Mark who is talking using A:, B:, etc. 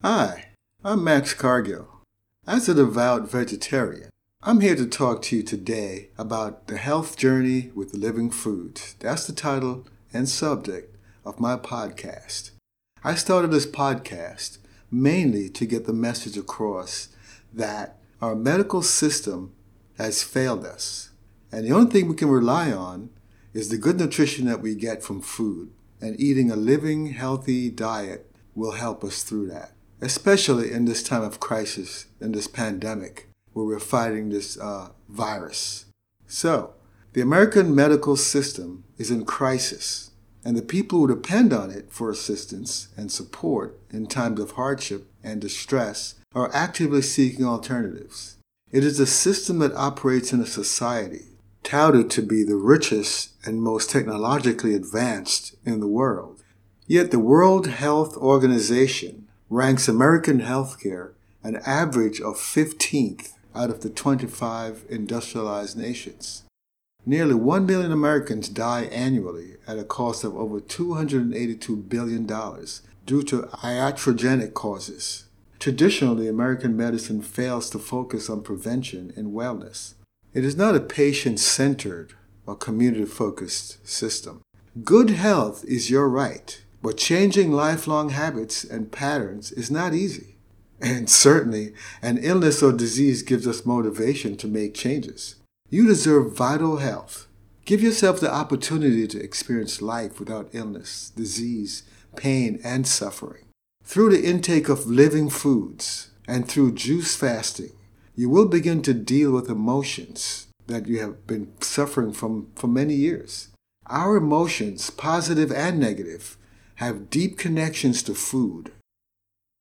A: Hi, I'm Max Cargill. As a devout vegetarian, I'm here to talk to you today about the health journey with living foods. That's the title and subject of my podcast. I started this podcast mainly to get the message across that our medical system has failed us. And the only thing we can rely on is the good nutrition that we get from food. And eating a living, healthy diet will help us through that, especially in this time of crisis, in this pandemic, where we're fighting this virus. So, the American medical system is in crisis, and the people who depend on it for assistance and support in times of hardship and distress are actively seeking alternatives. It is a system that operates in a society touted to be the richest and most technologically advanced in the world. Yet the World Health Organization ranks American healthcare an average of 15th out of the 25 industrialized nations. Nearly 1 million Americans die annually at a cost of over $282 billion due to iatrogenic causes. Traditionally, American medicine fails to focus on prevention and wellness. It is not a patient-centered or community-focused system. Good health is your right, but changing lifelong habits and patterns is not easy. And certainly, an illness or disease gives us motivation to make changes. You deserve vital health. Give yourself the opportunity to experience life without illness, disease, pain, and suffering. Through the intake of living foods and through juice fasting, you will begin to deal with emotions that you have been suffering from for many years. Our emotions, positive and negative, have deep connections to food,